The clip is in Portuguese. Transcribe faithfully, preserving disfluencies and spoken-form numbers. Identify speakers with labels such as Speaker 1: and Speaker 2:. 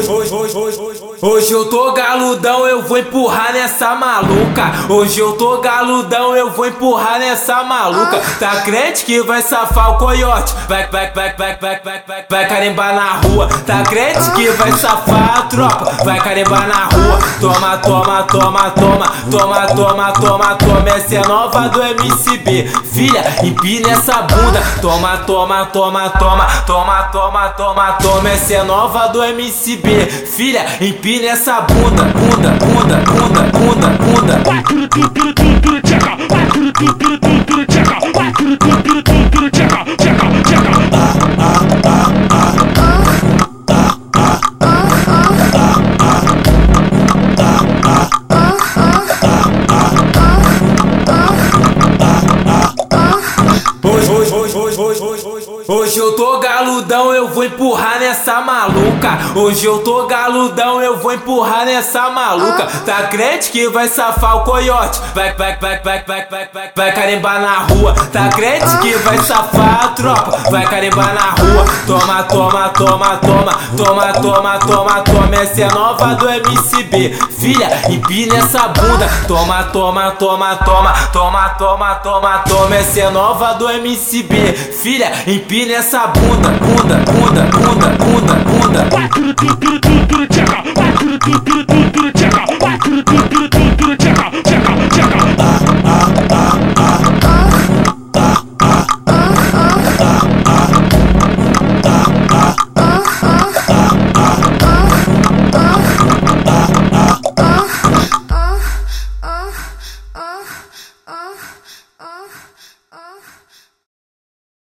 Speaker 1: hoje, hoje, hoje, hoje, hoje, hoje eu tô galudão, eu vou empurrar nessa maluca. Hoje eu tô galudão, eu vou empurrar nessa maluca. Tá crente que vai safar o coiote? Vai, vai, vai, vai, vai, vai, vai, vai carimbar na rua. Tá crente que vai safar a tropa? Vai carimbar na rua. Toma, toma, toma, toma, toma, toma, toma, toma. Essa é nova do M C B. Filha, empina essa bunda. Toma, toma, toma, toma, toma, toma, toma, toma. Essa é nova do M C B. Filha, empina essa bunda, bunda, bunda, bunda, bunda, bunda.
Speaker 2: Vai tudo, tudo, tudo, tudo, tudo, tcheca. Vai tudo, tudo, tudo, tudo, tudo, tcheca. Vai tudo, tudo, tudo, tudo, tudo, tcheca, tcheca, tcheca. Ah, ah, ah, ah.
Speaker 1: Hoje, hoje, hoje, hoje, hoje, hoje, hoje, hoje. Hoje eu tô galudão, eu vou empurrar nessa maluca. Hoje eu tô galudão, eu vou empurrar nessa maluca. Tá crente que vai safar o coiote? Vai, vai, vai, vai, vai, vai, vai, vai carimbar na rua. Tá crente que vai safar a tropa? Vai carimbar na rua. Toma, toma, toma, toma, toma, toma, toma, toma. Essa é nova do M C B. Filha, empina essa bunda. Toma, toma, toma, toma, toma, toma, toma, toma. Essa é nova do M C B. Filha, empina essa bunda, bunda, bunda, bunda, bunda, bunda.
Speaker 2: Vai tudo, tudo, tudo, tudo, tcheca. Vai tudo, tudo, tudo.